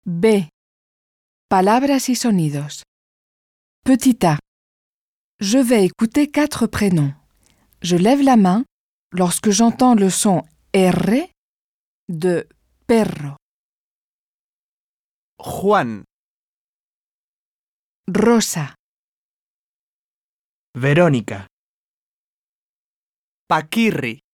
B. Palabras y sonidos. Petit A. Je vais écouter 4 prénoms. Je lève la main lorsque j'entends le son R de perro. Juan, Rosa, Verónica, Paquirri,